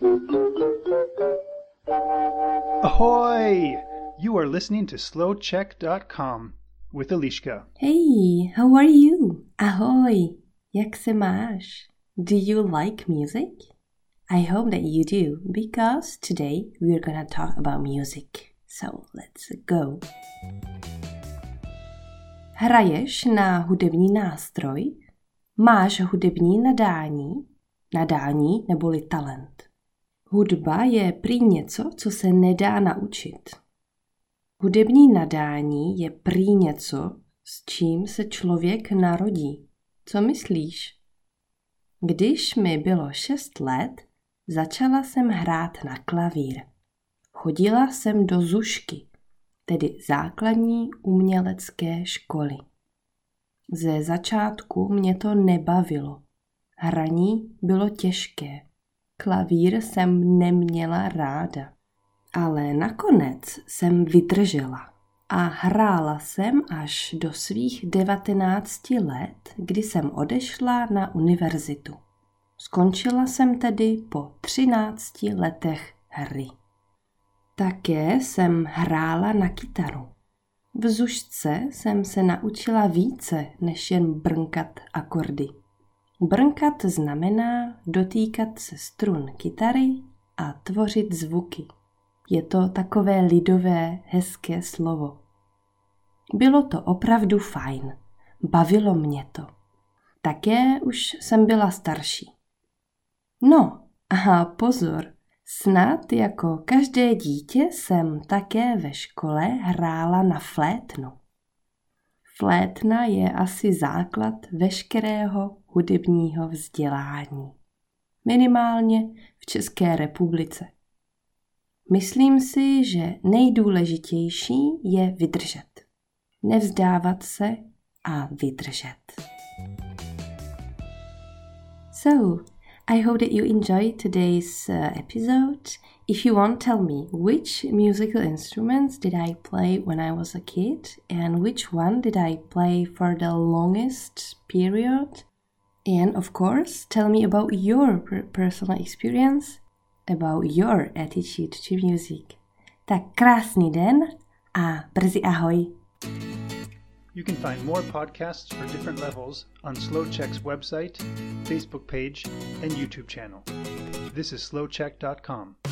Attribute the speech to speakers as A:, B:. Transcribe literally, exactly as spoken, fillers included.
A: Ahoy! You are listening to slow check dot com with Eliška.
B: Hey, how are you? Ahoj, jak se máš? Do you like music? I hope that you do, because today we're gonna talk about music. So let's go. Hraješ na hudební nástroj? Máš hudební nadání? Nadání neboli talent. Hudba je prý něco, co se nedá naučit. Hudební nadání je prý něco, s čím se člověk narodí. Co myslíš? Když mi bylo šest let, začala jsem hrát na klavír. Chodila jsem do zušky, tedy základní umělecké školy. Ze začátku mě to nebavilo. Hraní bylo těžké. Klavír jsem neměla ráda. Ale nakonec jsem vydržela a hrála jsem až do svých devatenácti let, kdy jsem odešla na univerzitu. Skončila jsem tedy po třinácti letech hry. Také jsem hrála na kytaru. V zušce jsem se naučila více, než jen brnkat akordy. Brnkat znamená dotýkat se strun kytary a tvořit zvuky. Je to takové lidové, hezké slovo. Bylo to opravdu fajn. Bavilo mě to. Také už jsem byla starší. No, a pozor, snad jako každé dítě jsem také ve škole hrála na flétnu. Flétna je asi základ veškerého hudebního vzdělání. Minimálně v České republice. Myslím si, že nejdůležitější je vydržet. Nevzdávat se a vydržet. So, I hope that you enjoyed today's uh, episode. If you want, tell me which musical instruments did I play when I was a kid and which one did I play for the longest period. And of course, tell me about your per- personal experience, about your attitude to music. Tak krásný den a brzy ahoj.
A: You can find more podcasts for different levels on SlowCheck's website, Facebook page, and YouTube channel. This is slow check dot com.